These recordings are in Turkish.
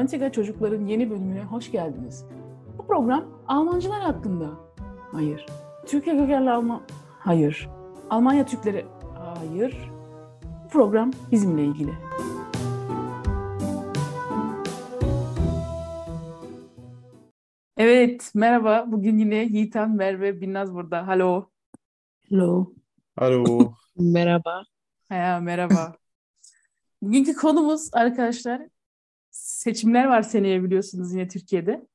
Antika Çocukların yeni bölümüne hoş geldiniz. Bu program Almancılar hakkında. Hayır. Türkiye kökenli Alman... Hayır. Almanya Türkleri... Hayır. Bu program bizimle ilgili. Evet, merhaba. Bugün yine Yiğitan, Merve, Binnaz burada. Hallo. Hello. Alo. Merhaba. Merhaba. Bugünkü konumuz arkadaşlar, seçimler var seneye biliyorsunuz yine Türkiye'de.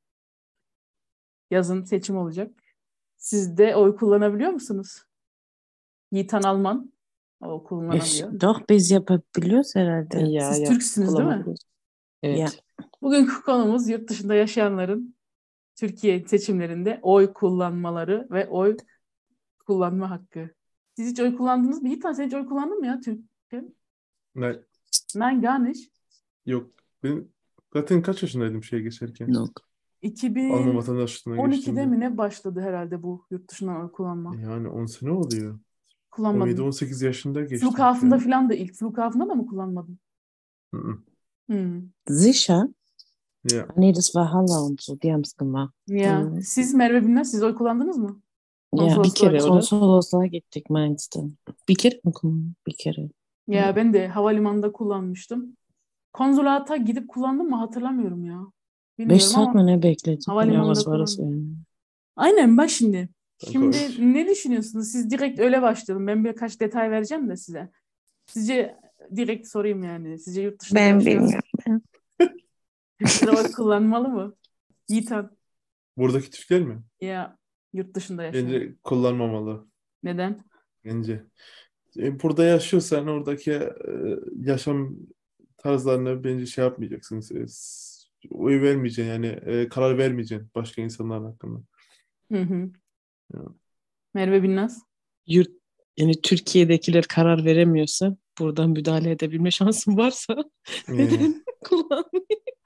Yazın seçim olacak. Siz de oy kullanabiliyor musunuz? Yiğitan Alman. O kullanamıyor. Doch biz yapabiliyoruz herhalde. Ya Siz Türksünüz değil mi? kullanabiliriz. Evet. Ya. Bugünkü konumuz yurt dışında yaşayanların Türkiye seçimlerinde oy kullanmaları ve oy kullanma hakkı. Siz hiç oy kullandınız mı? Yiğitan sen hiç oy kullandın mı ya Türkiye? Ne? Nein, gar nicht. Yok. Ben zaten kaç yaşındaydım şeye geçerken? Yok. Alman vatandaşlığına 2012'de geçtiğimde. mi ne başladı herhalde bu yurt dışından oy kullanma? Yani 10 sene oluyor. Kullanmadım. 17-18 yaşında geçtim. Flughafen'da Yani. falan da ilk Flughafen'da da mı kullanmadın? Hı-hı. Sicher? Ja. Nee, das war Halle und so. Die haben es gemacht. Ya siz Merve Binnaz, siz oy kullandınız mı? Ya bir Konsolosluğa kere gidip. konsolosluğa gittik Mainz'da. Bir kere mi kullandım? Bir kere. Ya ben de havalimanında kullanmıştım. Konsolata gidip kullandım mı hatırlamıyorum ya. 5 Bilmiyorum saat ama mi ne bekledik? havalimanında Ya was war das kullandım. yani? Aynen bak şimdi. Danke Şimdi euch. ne düşünüyorsunuz? Siz direkt öyle başlayalım. Ben birkaç detay vereceğim de size. Sizce direkt sorayım yani. Sizce yurt dışında Ben yaşayan bilmiyorum. Türkler oy kullanmalı mı? Yiğitan. Buradaki Türkler mi? Ya yurt dışında yaşayan. Bence kullanmamalı. Neden? Bence. Burada yaşıyorsan oradaki yaşam tarzlarına bence şey yapmayacaksın. Oy vermeyeceksin yani karar vermeyeceksin başka insanlar hakkında. Hı. Ya. Merve Binnaz. Yani Türkiye'dekiler karar veremiyorsa buradan müdahale edebilme şansım varsa neden kullanmayayım?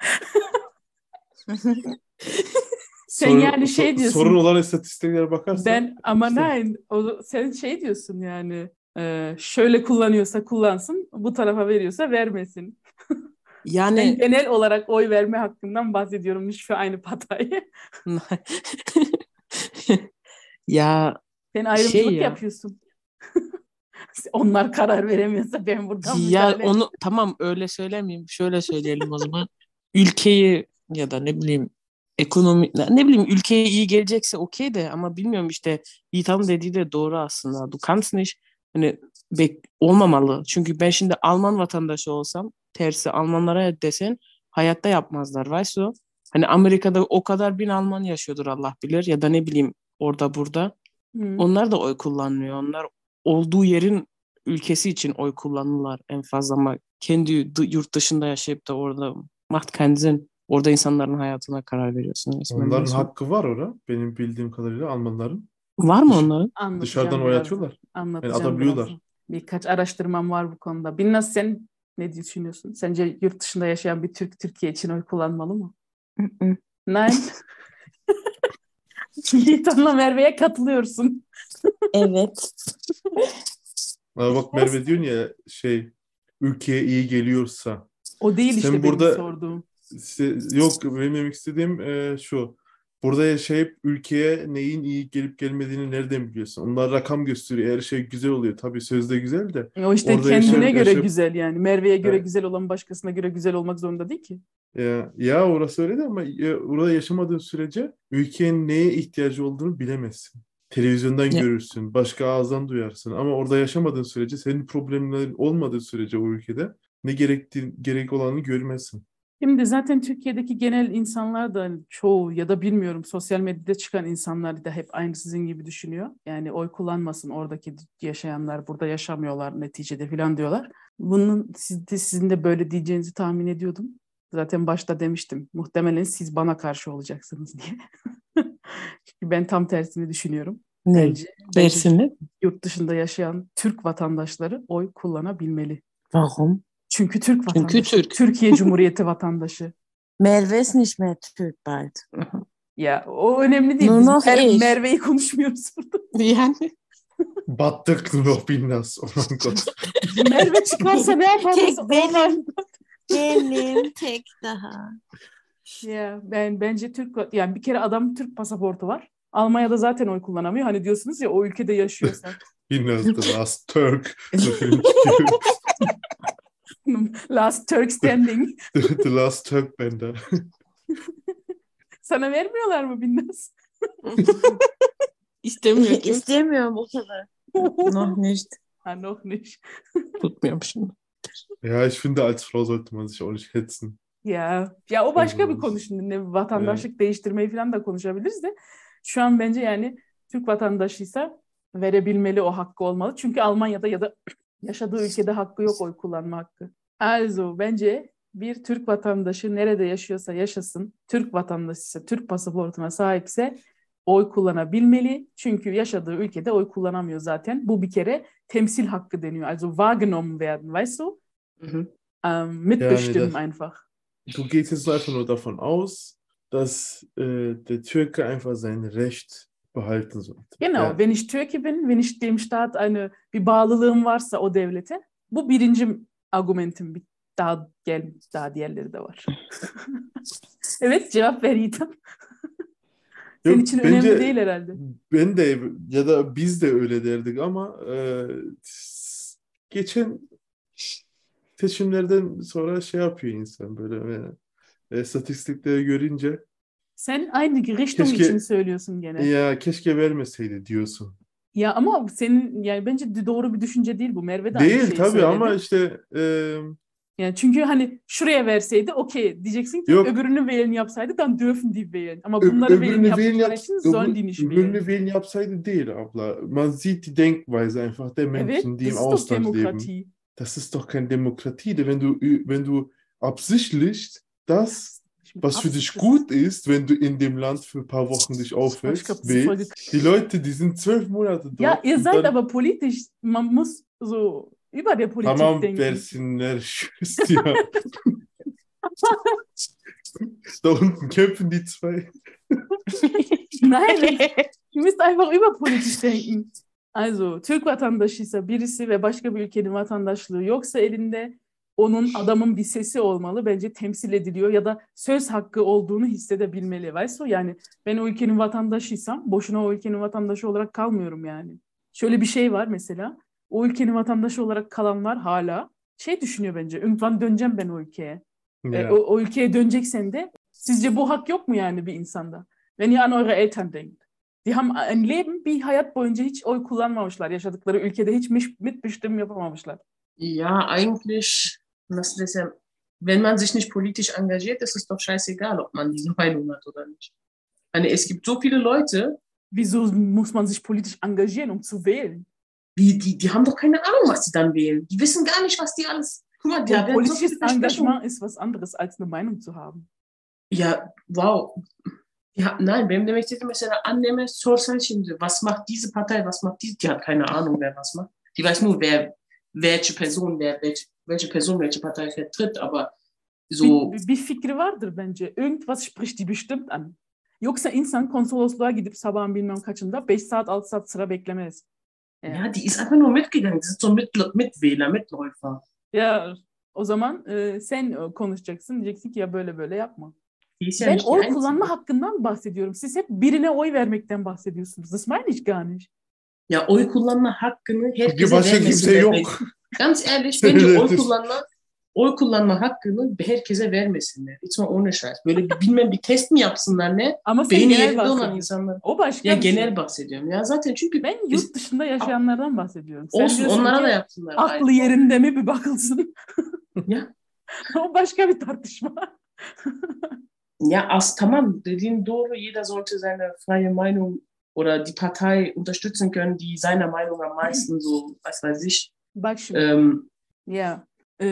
Sen yani şey diyorsun. Sorun olan istatistiklere bakarsan. Ama işte. nein. Sen şey diyorsun yani. Şöyle kullanıyorsa kullansın. Bu tarafa veriyorsa vermesin. Ben Yani genel olarak oy verme hakkından bahsediyorum. Nicht für eine Partei. ya Sen ayrımcılık ya. yapıyorsun. Onlar karar veremiyorsa ben buradan Ya müdahale onu tamam öyle söylemeyeyim. Şöyle söyleyelim o zaman. Ülkeyi ya da ne bileyim ekonomi ne bileyim ülkeye iyi gelecekse okey de ama bilmiyorum işte Yiğitan'ın dediği de doğru aslında. Du kannst nicht hani olmamalı. Çünkü ben şimdi Alman vatandaşı olsam tersi Almanlara desen hayatta yapmazlar. Weißt du? Hani Amerika'da o kadar bin Alman yaşıyordur Allah bilir ya da ne bileyim orada burada. Onlar da oy kullanmıyor. Onlar olduğu yerin ülkesi için oy kullanırlar en fazla ama kendi yurt dışında yaşayıp da orada macht keinen Sinn. Orada insanların hayatına karar veriyorsun resmen. Onların Mesela. hakkı var orada. Benim bildiğim kadarıyla Almanların. Var mı onların? Dışarıdan oy atıyorlar. Yani atabiliyorlar. birazdan. Birkaç araştırmam var bu konuda. Binnaz sen ne düşünüyorsun? Sence yurt dışında yaşayan bir Türk Türkiye için oy kullanmalı mı? Nein. Yiğitan'la Merve'ye katılıyorsun. Evet. Ama bak Merve diyorsun ya ülkeye iyi geliyorsa. O değil Sen işte benim burada sorduğum. yok benim demek istediğim şu. Burada yaşayıp ülkeye neyin iyi gelip gelmediğini nereden biliyorsun? Onlar rakam gösteriyor. Her şey güzel oluyor. Tabii sözde güzel de. O işte Orada kendine göre yaşayıp güzel yani. Merve'ye göre Evet. güzel olan başkasına göre güzel olmak zorunda değil ki. Ya orası öyle de ama orada yaşamadığın sürece ülkenin neye ihtiyacı olduğunu bilemezsin. Televizyondan Ya. görürsün, başka ağızdan duyarsın ama orada yaşamadığın sürece, senin problemlerin olmadığı sürece o ülkede ne gerek olanı görmezsin. Şimdi zaten Türkiye'deki genel insanlar da çoğu ya da bilmiyorum sosyal medyada çıkan insanlar da hep aynı sizin gibi düşünüyor. Yani oy kullanmasın oradaki yaşayanlar burada yaşamıyorlar neticede falan diyorlar. Bunun sizin de böyle diyeceğinizi tahmin ediyordum. Zaten başta demiştim. Muhtemelen siz bana karşı olacaksınız diye. Çünkü ben tam tersini düşünüyorum. Ne? Bence Tersini? yurt dışında yaşayan Türk vatandaşları oy kullanabilmeli. Warum? Çünkü Türk Çünkü vatandaşı. Türk. Türkiye Cumhuriyeti vatandaşı. Merve ist nicht mehr Türk bald. Ya o önemli değil. Nur Biz noch ich. Merve'yi konuşmuyoruz burada. Yani. Battık noch Binnaz. Oh mein Gott. Merve çıkarsa ne yaparız? Tek benim. Tek daha. Ya bence yani bir kere adam Türk pasaportu var. Almanya'da zaten oy kullanamıyor. Hani diyorsunuz ya o ülkede yaşıyorsa. Yine The Last Turk. So film çıkıyor. Last Turk standing. The Last Turk Bender. Sana vermiyorlar mı Binnaz? İstemiyor kimse. İstemiyorum o kadar. Noch nicht. Ha, noch nicht. Tutmuyorum şimdi. Ja, ich finde, als Frau sollte man sich auch nicht hetzen. Ya o başka bir konu şimdi. Ne, vatandaşlık değiştirmeyi falan da konuşabiliriz de. Şu an bence yani Türk vatandaşıysa verebilmeli, o hakkı olmalı. Çünkü Almanya'da ya da yaşadığı ülkede hakkı yok, oy kullanma hakkı. Also bence bir Türk vatandaşı nerede yaşıyorsa yaşasın, Türk vatandaşıysa, Türk pasaportuna sahipse oy kullanabilmeli. Çünkü yaşadığı ülkede oy kullanamıyor zaten. Bu bir kere temsil hakkı deniyor. Also wahrgenommen werden, weißt du? Mitbestimmen einfach. Du gehst jetzt einfach nur davon aus, dass der Türke einfach sein Recht behalten sollte. Genau, Yani, wenn ich Türke bin, wenn ich dem Staat bir bağlılığım varsa o devlete, bu birinci argumentim. Daha diğerleri de var. Evet, cevap ver Yiğitam. Senin yok, için bence önemli değil herhalde. ben de ya da biz de öyle derdik ama geçen seçimlerden sonra şey yapıyor insan böyle statistikleri görünce Sen aynı Richtung Keşke- için söylüyorsun gene. ya keşke vermeseydi diyorsun. Ya ama senin yani bence doğru bir düşünce değil bu. Merve de aynı Değil şeyi tabii söyledi. ama işte Yani çünkü hani şuraya verseydi okey diyeceksin ki Yok. öbürünü wählen yapsaydı dann dürfen die wählen. Ama bunları wählen öbürünü yaptıkları için sollen die nicht öbürünü wählen. wählen yapsaydı değil abla. Man sieht die Denkweise einfach der Evet, Menschen, die das im ist doch Ausland leben. Demokratie. Das ist doch keine Demokratie. Wenn du absichtlich das, was für dich gut ist, wenn du in dem Land für ein paar Wochen dich aufhältst, glaub, das ist voll wählst. Die Leute, die sind 12 Monate dort. Ja, ihr und seid dann, aber politisch, man muss so über der Politik tamam denken. versinler Tschüss, ja. Da unten kämpfen die zwei. Nein, ihr müsst einfach überpolitisch denken. Also, Türk vatandaşıysa birisi ve başka bir ülkenin vatandaşlığı yoksa elinde, onun adamın bir sesi olmalı. Bence temsil ediliyor ya da söz hakkı olduğunu hissedebilmeli. Weißt du? Yani ben o ülkenin vatandaşıysam boşuna o ülkenin vatandaşı olarak kalmıyorum yani. Şöyle bir şey var mesela. O ülkenin vatandaşı olarak kalanlar hala şey düşünüyor bence. Irgendwann döneceğim ben o ülkeye. Ja. O ülkeye döneceksen de sizce bu hak yok mu yani bir insanda? Wenn ihr an eure Eltern denkt. Die haben ein Leben, bir hayat boyunca hiç oy kullanmamışlar. Yaşadıkları ülkede hiç mitbestimmen yapamamışlar. Ja, eigentlich, was das ja, wenn man sich nicht politisch engagiert, ist es doch scheißegal, ob man diese Meinung hat oder nicht. Hani es gibt so viele Leute, Wieso muss man sich politisch engagieren, um zu wählen? die haben doch keine Ahnung, was die dann wählen. Die wissen gar nicht, was die alles. Guck mal, die Und werden so politisches viele Versprechungen. Engagement ist was anderes, als eine Meinung zu haben. Ya wow. Ya, nein, benim demek istediğim mesela anneme sorsan şimdi, was macht diese Partei, was macht diese? Die hat keine Ahnung, wer was macht. Die weiß nur, welche Person welche Partei vertritt, aber so. Bir fikri vardır bence. Irgendwas spricht die bestimmt an. Yoksa insan konsolosluğa gidip sabahın bilmem kaçında 5 saat 6 saat sıra beklemez. Ja, die ist einfach nur mitgegangen. Die sind so Mitwähler, Mitläufer. Ya o zaman sen konuşacaksın. Diyeceksin ki ya böyle böyle yapma. Die ist ja Ben nicht die oy Einzige. kullanma hakkından bahsediyorum. Siz hep birine oy vermekten bahsediyorsunuz. Das meine ich gar nicht. Ya oy kullanma hakkını herkese Başka kimse vermesinler. yok. Ganz ehrlich, bence oy kullanma hakkını herkese vermesinler. Hiç mi ohne Scheiß. Böyle bir test mi yapsınlar ne? Ama sen Beyni genel yerinde olan bahsediyorsun. insanlar. O başka Ya bir şey. genel bahsediyorum. Ya zaten çünkü Ben yurt dışında yaşayanlardan bahsediyorum. Sen olsun diyorsun onlara ki, da yapsınlar. aklı yerinde mi bir bakılsın. Ya. O başka bir tartışma. Ja, tamam, dediğin doğru. Jeder sollte seine freie Meinung oder die Partei unterstützen können, die seiner Meinung am meisten so, was weiß ich. Bak şimdi. Ya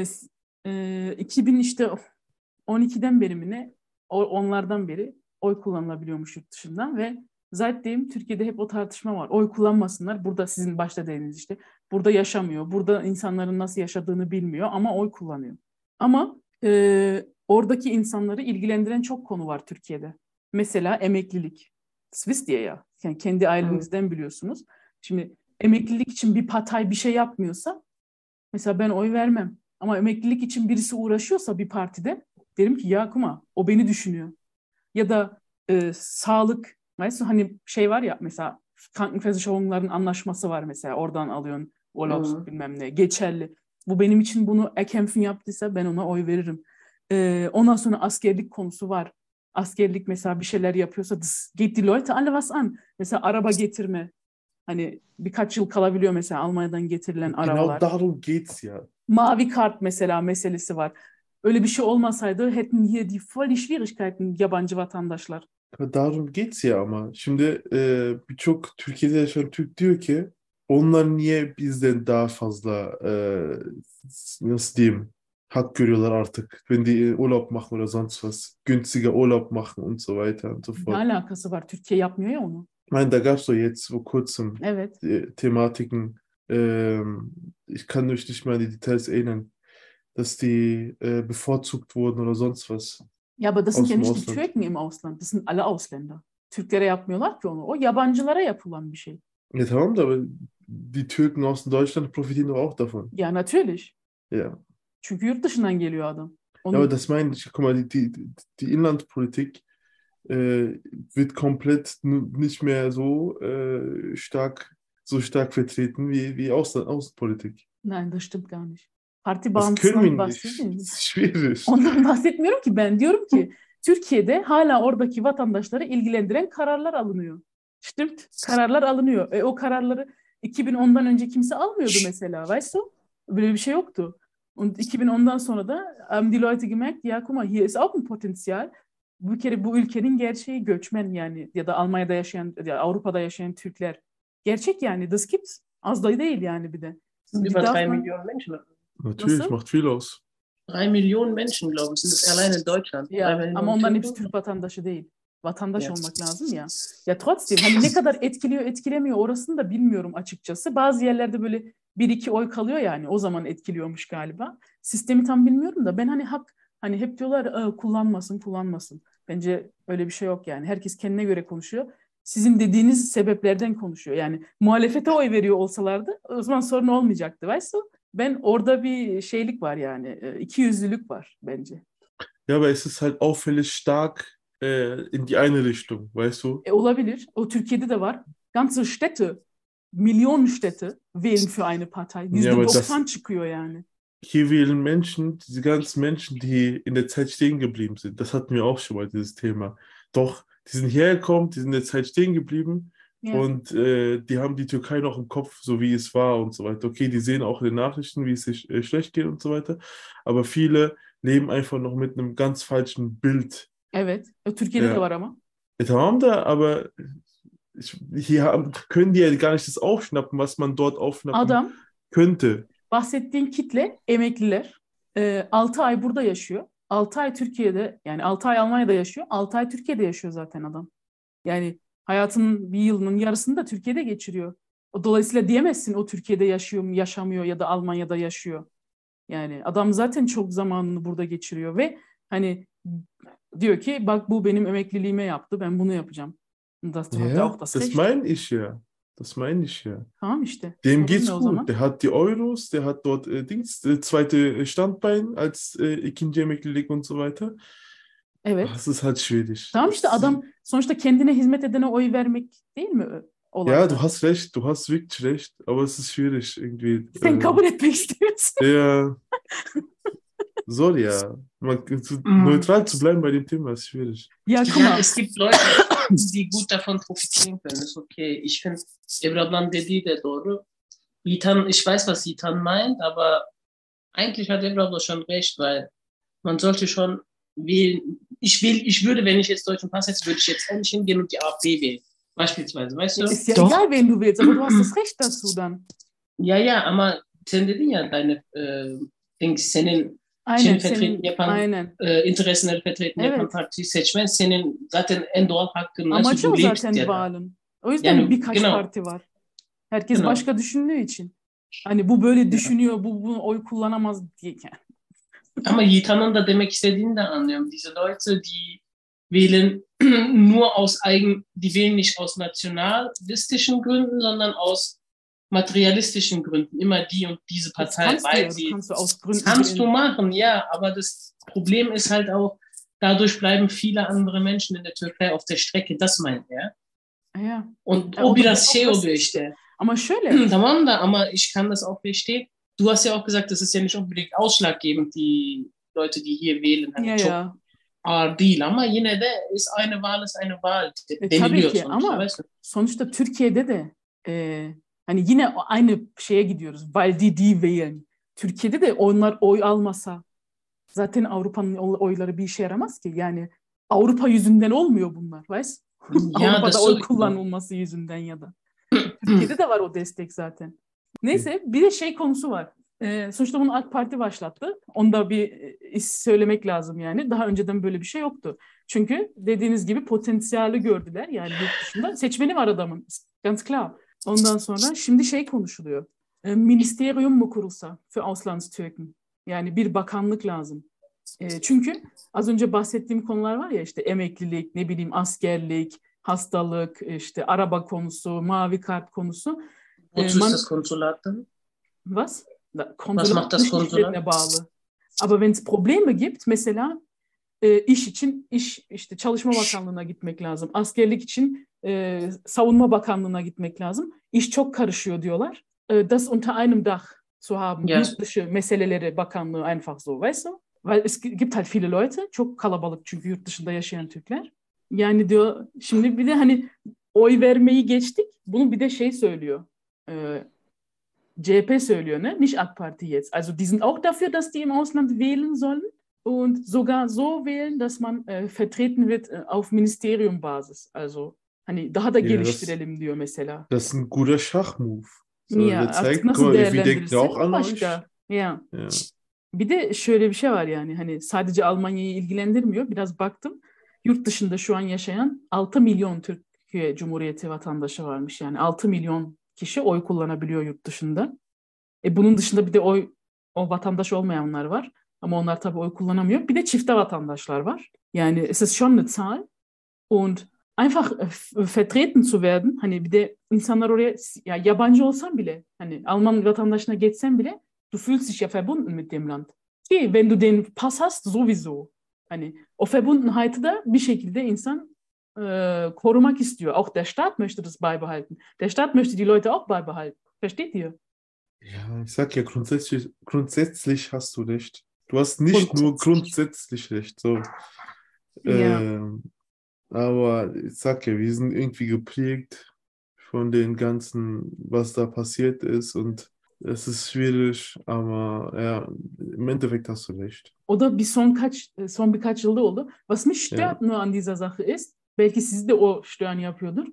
2000 işte 12'den beri mi ne? Onlardan beri oy kullanılabiliyormuş yurt dışından ve zaten Türkiye'de hep o tartışma var. Oy kullanmasınlar. Burada sizin başta dediğiniz işte. Burada yaşamıyor. Burada insanların nasıl yaşadığını bilmiyor ama oy kullanıyor. Ama oradaki insanları ilgilendiren çok konu var Türkiye'de. Mesela emeklilik. Swiss diye ya. Yani kendi ailenizden biliyorsunuz. Şimdi emeklilik için bir partay bir şey yapmıyorsa mesela ben oy vermem. Ama emeklilik için birisi uğraşıyorsa bir partide Derim ki ya kuma o beni düşünüyor. Ya da sağlık, weißt du, hani şey var ya mesela Krankenversicherung'ların anlaşması var mesela oradan alıyorsun Urlaubs bilmem ne geçerli. Bu benim için bunu erkämpfen yaptıysa ben ona oy veririm. Ondan sonra askerlik konusu var. Askerlik mesela bir şeyler yapıyorsa das geht die Leute alle was an. Mesela araba getirme. Hani birkaç yıl kalabiliyor mesela Almanya'dan getirilen Genau arabalar. darum geht's ja. Mavi kart mesela meselesi var. Öyle bir şey olmasaydı hätten hier die voll die Schwierigkeiten yabancı vatandaşlar. Aber darum geht's ya ama. Şimdi birçok Türkiye'de yaşayan Türk diyor ki onlar niye bizden daha fazla nasıl diyeyim hak görüyorlar artık. Wenn die Urlaub machen oder sonst was. Günstiger Urlaub machen und so weiter und so Ne fort. alakası var? Türkiye yapmıyor ya onu. Nein, da gab's doch jetzt vor kurzem Evet. Thematiken. Ich kann mich nicht mehr an die Details erinnern, dass die bevorzugt wurden oder sonst was Ja, aber das sind aus ja dem nicht die Ausland. Türken im Ausland. Das sind alle Ausländer. Türklere yapmıyorlar ki onu. O yabancılara yapılan bir şey. Ja, tamam da aber die Türken aus Deutschland profitieren doch auch davon. Ya natürlich. Ja. Çünkü yurt dışından geliyor adam. Ja, aber das meine ich. Guck mal, die Inlandspolitik wird komplett nicht mehr so stark vertreten wie Außenpolitik. Nein, das stimmt gar nicht. Parti Das können bağımsızlığından wir nicht. bahsediyor Das ist schwierig. Ondan bahsetmiyorum ki ben. Diyorum ki Türkiye'de hala oradaki vatandaşları ilgilendiren kararlar alınıyor. Stimmt. Kararlar alınıyor. O kararları 2010'dan önce kimse almıyordu mesela. Weißt du? Böyle bir şey yoktu. Und 2010'dan sonra da haben die Leute gemerkt, ya guck mal, hier ist auch ein Potenzial. Bir kere bu ülkenin gerçeği göçmen yani ya da Almanya'da yaşayan, ya Avrupa'da yaşayan Türkler. Gerçek yani. Das gibt's. Az da değil yani bir de. sind Die über darf 3 man- Millionen Menschen. Natürlich, Nasıl? macht viel aus. 3 Millionen Menschen, glaube ich, sind es allein in Deutschland. 3 Ya Millionen ama onların Türken. hepsi Türk vatandaşı değil. Vatandaş Ya. olmak lazım ya. Ya trotzdem hani ne kadar etkiliyor etkilemiyor orasını da bilmiyorum açıkçası. Bazı yerlerde böyle 1-2 oy kalıyor yani o zaman etkiliyormuş galiba. Sistemi tam bilmiyorum da ben hani hep diyorlar kullanmasın. Bence öyle bir şey yok yani. Herkes kendine göre konuşuyor. Sizin dediğiniz sebeplerden konuşuyor. Yani muhalefete oy veriyor olsalardı o zaman sorun olmayacaktı. Weißt du? Ben orada bir şeylik var yani. İkiyüzlülük var bence. Ja, aber es ist halt auffällig stark in die eine Richtung, weißt du? Olabilir. O Türkiye'de de var. Ganze Städte, Millionen Städte wählen für eine Partei. Ja, aber %90 çıkıyor yani. hier wählen Menschen, diese ganzen Menschen, die in der Zeit stehen geblieben sind. Das hatten wir auch schon mal, dieses Thema. Doch, die sind hergekommen, die sind in der Zeit stehen geblieben Ja. und die haben die Türkei noch im Kopf, so wie es war und so weiter. Okay, die sehen auch in den Nachrichten, wie es sich schlecht geht und so weiter. Aber viele leben einfach noch mit einem ganz falschen Bild. Evet. Türkiye'de Ja. de var ama. Tamam da, aber können die ja gar nicht das aufschnappen, was man dort aufschnappen Adam, könnte. bahsettiğin kitle emekliler. 6 ay burada yaşıyor. 6 ay Türkiye'de, yani 6 ay Almanya'da yaşıyor. 6 ay Türkiye'de yaşıyor zaten adam. Yani hayatının bir yılının yarısını da Türkiye'de geçiriyor. Dolayısıyla diyemezsin o Türkiye'de yaşıyor mu, yaşamıyor ya da Almanya'da yaşıyor. Yani adam zaten çok zamanını burada geçiriyor ve hani diyor ki bak bu benim emekliliğime yaptı, ben bunu yapacağım. Das hat er Ja, auch das das Recht. meine ich ja. Das meine ich ja. Tamam işte. Dem Sorun geht's ne o gut. zaman? Der hat die Euros, der hat dort zweite Standbein als ikinci emeklilik und so weiter. Evet. Das ist halt schwierig. Tamam işte adam sonuçta kendine hizmet edene oy vermek değil mi olay? Ja, du hast recht, du hast wirklich recht, aber es ist schwierig irgendwie. Sen kabul etmek istiyorsun. Ja, soll ja. Neutral zu bleiben bei dem Thema ist schwierig. Ya Ja, kuma. es gibt Leute, die gut davon profitieren können. Ist okay. Ich finde, Ebru ablanın dediği de doğru. Yiğitan, ich weiß, was Yiğitan meint, aber eigentlich hat Ebru abla schon recht, weil man sollte schon wählen. Ich würde, wenn ich jetzt deutschen Pass hätte, würde ich jetzt endlich hingehen und die AfD wählen. Beispielsweise, weißt du? Ist ja Doch. egal wen du willst, aber du hast das Recht dazu dann. Ya ama sen dedin ya deine senin Aynen Seni fethetti yapan, aynen. Interesleri fethetti yapan Evet. partiyi seçmen senin zaten en doğal hakkın. Amacı o Du lebst zaten ya da. Wahlen. O yüzden Yani, birkaç genau. parti var. Herkes Genau. başka düşündüğü için. Hani bu böyle düşünüyor, bu oy kullanamaz diye. Ama Yiğitan'ın da demek istediğini de anlıyorum. Diese Leute, die wählen nur aus die wählen nicht aus nationalistischen Gründen, sondern aus materialistischen Gründen immer die und diese Das Partei, kannst du ja, weil du sie, kannst du aus das Gründen kannst du wählen. machen, ja, aber das Problem ist halt auch, dadurch bleiben viele andere Menschen in der Türkei auf der Strecke, das meint er. Ja. Und Ya o o da biraz şey oluyor demokrasi işte. işte. Ama şöyle, Tamam da ama ich kann das auch verstehen. Du hast ja auch gesagt, das ist ja nicht unbedingt ausschlaggebend, die Leute, die hier wählen, hani ya çok ya. ağır değil ama yine de eine Wahl ist eine Wahl Tabii deniliyor ki sonuçta. ama Weißt du? sonuçta Türkiye'de de hani yine aynı şeye gidiyoruz. Weil die wählen. Türkiye'de de onlar oy almasa zaten Avrupa'nın oyları bir işe yaramaz ki. Yani Avrupa yüzünden olmuyor bunlar. Weißt? Ya Avrupa'da das oy sowieso. kullanılması yüzünden ya da. Türkiye'de de var o destek zaten. Neyse bir de şey konusu var. Sonuçta bunu AK Parti başlattı. Onda bir söylemek lazım yani. Daha önceden böyle bir şey yoktu. Çünkü dediğiniz gibi potansiyeli gördüler. Yani yurt dışında seçmeni var adamın. Ganz klar. Ondan sonra şimdi şey konuşuluyor. Ministerium mu kurulsa für Auslandstürken? Yani bir bakanlık lazım. Çünkü az önce bahsettiğim konular var ya işte emeklilik, ne bileyim askerlik, hastalık, işte araba konusu, mavi kart konusu. Wozu ist das Konsulat dann? Was? Was Konsulat macht das dışişlerine Konsulat? bağlı. Aber wenn es Probleme gibt, mesela iş için işte Çalışma Bakanlığı'na gitmek lazım. Askerlik için Savunma Bakanlığı'na gitmek lazım. İş çok karışıyor diyorlar. Das unter einem Dach zu haben. Ja. Yurt dışı meseleleri bakanlığı einfach so, weißt du? Weil es gibt halt viele Leute, çok kalabalık çünkü yurt dışında yaşayan Türkler. Yani diyor, şimdi bir de hani oy vermeyi geçtik. Bunu bir de şey söylüyor. CHP söylüyor, ne? Nicht AK Parti jetzt. Also die sind auch dafür, dass die im Ausland wählen sollen und sogar so wählen, dass man vertreten wird auf Ministeriumbasis. Also hani daha da Ja, geliştirelim diyor mesela. das ist ein guter Schachmove. So, Ya der artık zeigt, nasıl guck mal, wir denken değerlendirirsin auch o an euch. başka. Ya. Ja. Bir de şöyle bir şey var yani hani sadece Almanya'yı ilgilendirmiyor. Biraz baktım. Yurt dışında şu an yaşayan 6 milyon Türkiye Cumhuriyeti vatandaşı varmış. Yani 6 milyon kişi oy kullanabiliyor yurt dışında. Bunun dışında bir de o vatandaş olmayanlar var. Ama onlar tabii oy kullanamıyor. Bir de çifte vatandaşlar var. Yani es ist schon eine Zahl. Und einfach vertreten zu werden. Hani bir de insanlar oraya ya yabancı olsan bile hani Alman vatandaşına geçsen bile du fühlst dich ja verbunden mit dem Land. Ki wenn du den Pass hast sowieso. Hani o Verbundenheit'ı da bir şekilde insan korumak istiyor. Auch der Staat möchte das beibehalten. Der Staat möchte die Leute auch beibehalten. Versteht ihr? Ja, ich sag ja, grundsätzlich hast du recht. Du hast nicht nur grundsätzlich recht. So. Ja. Aber ich sag ja, wir sind irgendwie geprägt von den ganzen, was da passiert ist und es ist schwierig, aber ja, im Endeffekt hast du recht. O da son birkaç yılda oldu. Was mich stört nur an dieser Sache ist, belki sizi de o stören yapıyordur,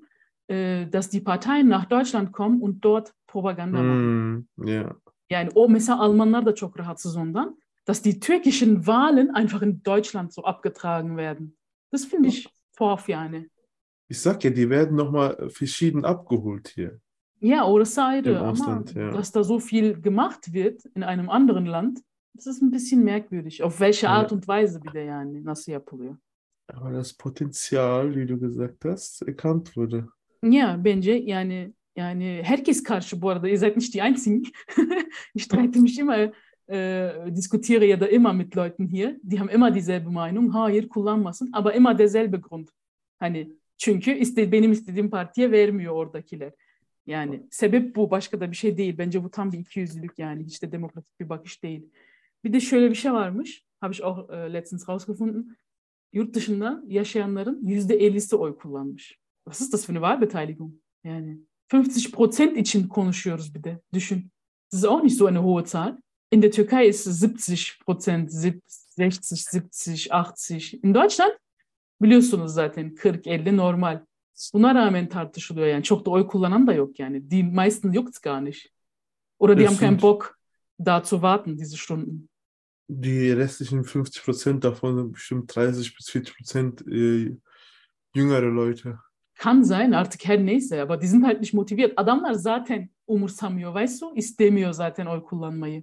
dass die Parteien nach Deutschland kommen und dort Propaganda machen. Ja. Yani o mesela Almanlar da çok rahatsız ondan, dass die türkischen Wahlen einfach in Deutschland so abgetragen werden. Das finde ich torf yani. Ich sag ja, die werden nochmal verschieden abgeholt hier. Ja, orası Im ayrı ama Ausland, ja. dass da so viel gemacht wird in einem anderen Land, das ist ein bisschen merkwürdig. Auf welche Art und Weise bir de yani, nasıl yapılıyor? Aber das Potenzial, wie du gesagt hast, erkannt wurde. Ja, bence yani herkes karşı bu arada. Ihr seid nicht die Einzigen. Ich streite mich immer, diskutiere ya da immer mit Leuten hier. Die haben immer dieselbe Meinung. Hayır kullanmasın. Aber immer derselbe Grund. Hani çünkü benim istediğim partiye vermiyor oradakiler. Yani sebep bu. Başka da bir şey değil. Bence bu tam bir ikiyüzlülük yani. Hiç de demokratik bir bakış değil. Bir de şöyle bir şey varmış. Habe ich auch letztens rausgefunden. Yurt dışında yaşayanların %50'si oy kullanmış. Was ist das für eine Wahlbeteiligung? Yani 50% için konuşuyoruz bir de. Düşün. Das ist auch nicht so eine hohe Zahl. In der Türkei ist es 70%, 60, 70, 80. In Deutschland biliyorsunuz zaten 40-50 normal. Buna rağmen tartışılıyor yani. Çok da oy kullanan da yok yani. Die meisten juckt's gar nicht. Oder die haben keinen Bock, da zu warten, diese Stunden. Die restlichen 50% davon sind bestimmt 30 bis 40% jüngere Leute. Kann sein artık her neyse aber die sind halt nicht motiviert. Adamlar zaten umursamıyor, weißt du? İstemiyor zaten oy kullanmayı.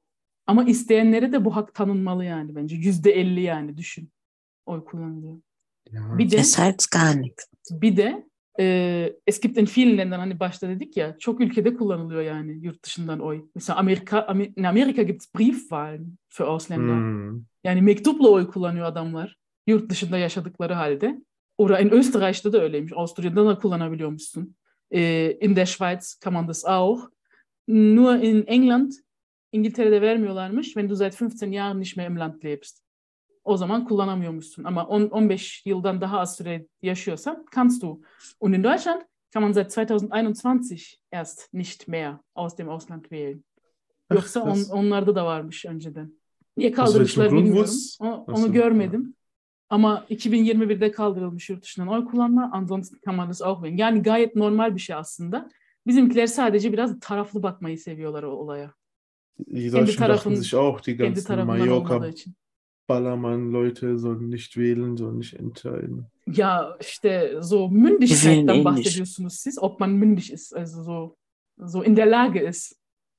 Ama isteyenlere de bu hak tanınmalı yani bence. %50 yani düşün. Oy kullanılıyor. Ja. Bir de Es heißt gar nichts. bir de Es gibt in vielen Ländern, hani başta dedik ya, çok ülkede kullanılıyor yani yurt dışından oy. Mesela in Amerika gibt es Briefwahlen für Ausländer. Hm. Yani mektupla oy kullanıyor adamlar yurt dışında yaşadıkları halde. Oder in Österreich'ta da öyleymiş. Avusturya'da da kullanabiliyormuşsun. In der Schweiz kann man das auch. Nur in England, İngiltere'de vermiyorlarmış. Wenn du seit 15 Jahren nicht mehr im Land lebst. O zaman kullanamıyormuşsun. Ama 15 yıldan daha az süre yaşıyorsan kannst du. Und in Deutschland kann man seit 2021 erst nicht mehr aus dem Ausland wählen. Yoksa krass. onlarda da varmış önceden. Niye Aus welchem kaldırmışlar Grund bilmiyorum. Ach Onu so, görmedim. Ama 2021'de kaldırılmış yurt dışından oy kullanma. Ansonsten kann man das auch wählen. Yani gayet normal bir şey aslında. Bizimkiler sadece biraz taraflı bakmayı seviyorlar o olaya. Die Deutschen dachten sich auch, die Kendi ganzen tarafından olmadığı Mallorca için. Ballermann-Leute sollen nicht wählen, sollen nicht entscheiden. Ja, işte so Wir wählen Mündigkeiten ähnlich. bahsediyorsunuz siz. Ob man mündig ist, also so in der Lage ist,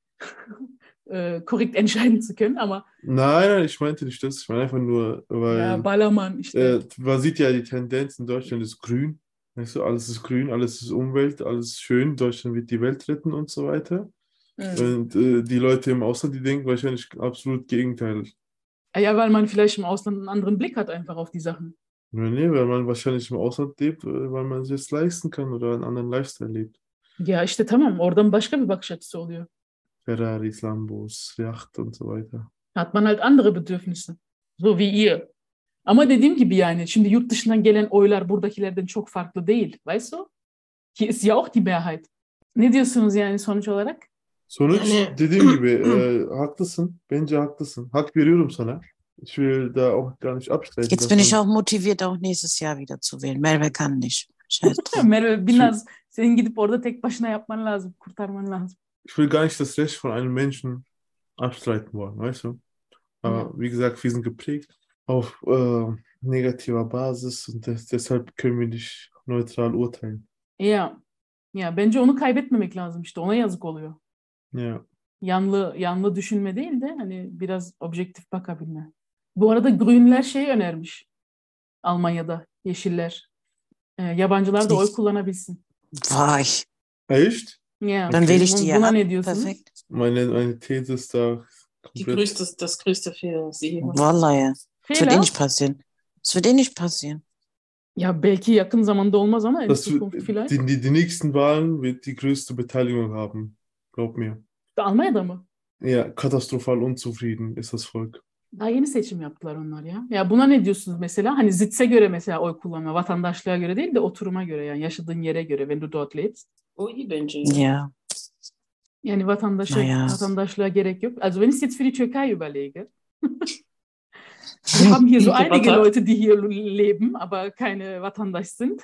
korrekt entscheiden zu können. Aber Nein, ich meinte nicht das. Ich meine einfach nur, ja, weil Ballermann, işte. man sieht ja die Tendenz in Deutschland ist grün. Weißt du, alles ist grün, alles ist Umwelt, alles ist schön. Deutschland wird die Welt retten und so weiter. Und die Leute im Ausland, die denken wahrscheinlich absolut Gegenteil. Ja, weil man vielleicht im Ausland einen anderen Blick hat einfach auf die Sachen. Nee, weil man wahrscheinlich im Ausland lebt, weil man sich das leisten kann oder einen anderen Lifestyle lebt. Ya işte tamam, oradan başka bir bakış açısı oluyor. Ferraris, Lambos, Yacht und so weiter. Hat man halt andere Bedürfnisse. So wie ihr. Ama dediğim gibi yani şimdi yurt dışından gelen oylar buradakilerden çok farklı değil. Weißt du? Hier ist ja auch die Mehrheit. Ne diyorsunuz yani sonuç olarak? Sonuç Yani- dediğim gibi haklısın. Bence haklısın. Hak veriyorum sana. Ich will da auch gar nicht abstreiten. Jetzt dass bin ich man- auch motiviert, auch nächstes Jahr wieder zu wählen. Merve kann nicht. Scheiß drauf. Merve biraz senin gidip orada tek başına yapman lazım. Kurtarman lazım. Ich will gar nicht das Recht von einem Menschen abstreiten wollen, weißt du? Aber Ja. wie gesagt, wir sind geprägt auf negativer Basis und deshalb können wir nicht neutral urteilen. Ya bence onu kaybetmemek lazım işte. Ona yazık oluyor. Ja. Yanlı düşünme değil de hani biraz objektif bakabilme. Bu arada Grünler şeyi önermiş. Almanya'da Yeşiller. Yabancılar da oy kullanabilsin. Vay. Echt? Ya. Dann wähle ich die ja Buna ab. ne diyorsunuz? Perfekt. Meine These ist da komplett. Das größte Fehler, was sie jemals. Vallahi ya. Das wird Fehler. eh nicht passieren. Das wird eh nicht passieren. Ya belki yakın zamanda olmaz ama en Das Zukunft wird, vielleicht. die nächsten Wahlen wird die größte Beteiligung haben. Glaub mir. Almanya'da mı? Ja, katastrophal unzufrieden ist das Volk. Daha yeni seçim yaptılar onlar ya. Ya buna ne diyorsunuz mesela? Hani Sitz'e göre mesela oy kullanma. Vatandaşlığa göre değil de oturuma göre yani yaşadığın yere göre. Wenn du dort lebst. O iyi bence. Ja. Yani Naja. vatandaşlığa gerek yok. Also wenn ich jetzt für die Türkei überlege. Wir haben hier so einige Leute, die hier leben, aber keine Vatandaş sind.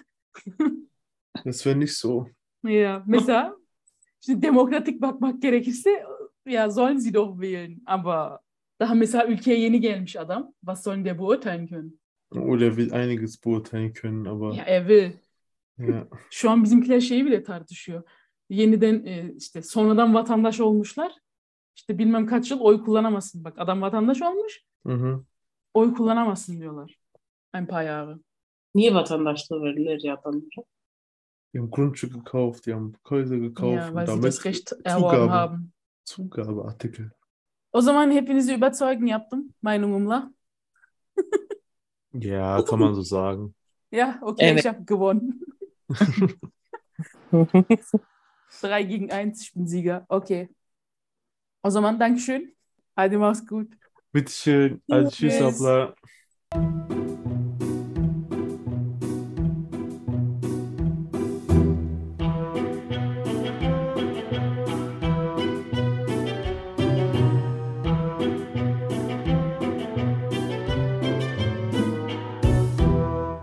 Das wäre nicht so. Ya mesela şimdi demokratik bakmak gerekirse ya sollen sie doch wählen. Aber daha mesela ülkeye yeni gelmiş adam. Was sollen der beurteilen können? Oder er will einiges beurteilen können, aber Ya er will. ja. Şu an bizimkiler şeyi bile tartışıyor. Yeniden işte sonradan vatandaş olmuşlar. İşte bilmem kaç yıl oy kullanamazsın. Bak adam vatandaş olmuş. Mhm. Oy kullanamazsın diyorlar. Ein paar Jahre. Niye vatandaşlığı verirler ya adamlara? Die haben Grundstück gekauft, die haben Häuser gekauft Ja, und weil sie damit das Recht erworben haben. Zugabeartikel. O zaman hepinizi überzeugen yaptım Meinungumla. Ja, kann man so sagen. Ja, okay, Evet. ich habe gewonnen. 3-1, ich bin Sieger. Okay. O zaman Dankeschön. Hadi mach's gut. Bitteschön. Also tschüss, Tschüss. Abla.